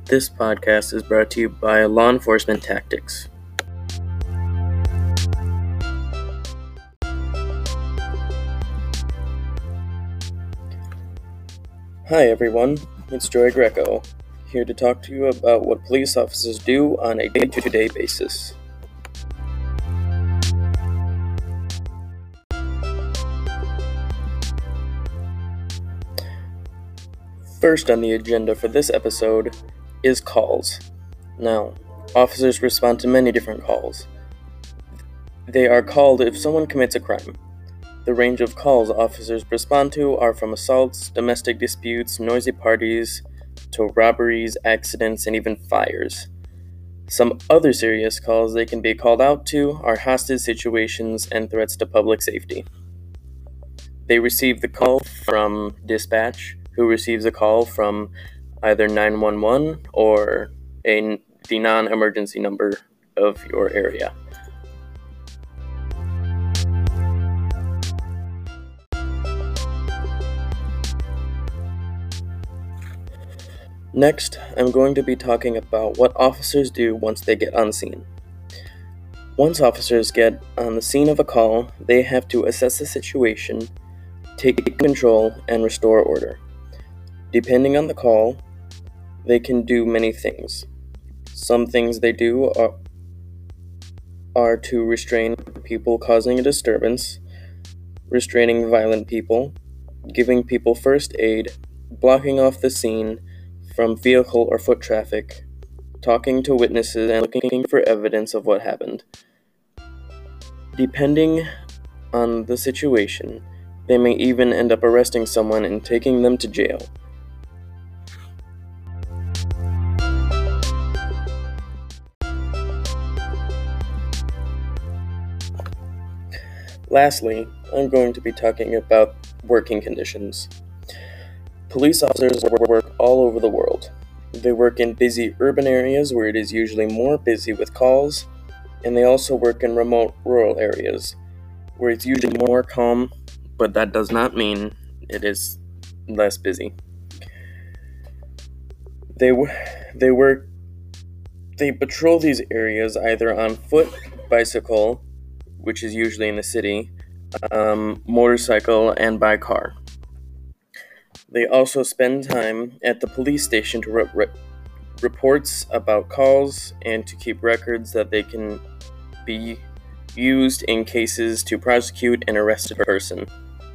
This podcast is brought to you by Law Enforcement Tactics. Hi everyone, it's Joy Greco, here to talk to you about what police officers do on a day-to-day basis. First on the agenda for this episode is calls. Now, officers respond to many different calls. They are called if someone commits a crime. The range of calls officers respond to are from assaults, domestic disputes, noisy parties, to robberies, accidents, and even fires. Some other serious calls they can be called out to are hostage situations and threats to public safety. They receive the call from dispatch, who receives a call from either 911 or the non-emergency number of your area. Next, I'm going to be talking about what officers do once they get on scene. Once officers get on the scene of a call, they have to assess the situation, take control, and restore order. Depending on the call, they can do many things. Some things they do are to restrain people causing a disturbance, restraining violent people, giving people first aid, blocking off the scene from vehicle or foot traffic, talking to witnesses, and looking for evidence of what happened. Depending on the situation, they may even end up arresting someone and taking them to jail. Lastly, I'm going to be talking about working conditions. Police officers work all over the world. They work in busy urban areas where it is usually more busy with calls, and they also work in remote rural areas where it's usually more calm, but that does not mean it is less busy. They patrol these areas either on foot, bicycle, which is usually in the city, motorcycle, and by car. They also spend time at the police station to reports about calls and to keep records that they can be used in cases to prosecute an arrested person.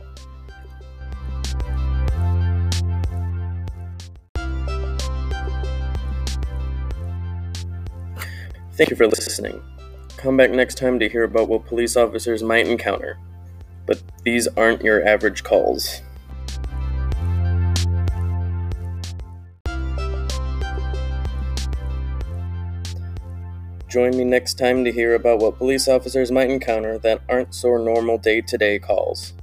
Thank you for listening. Come back next time to hear about what police officers might encounter. But these aren't your average calls. Join me next time to hear about what police officers might encounter that aren't so normal day-to-day calls.